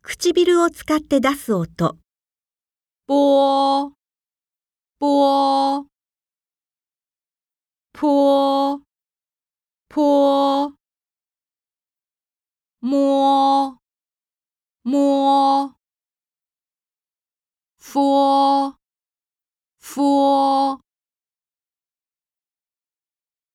唇を使って出す音。 波、波、坡、坡、摸、摸、佛、佛。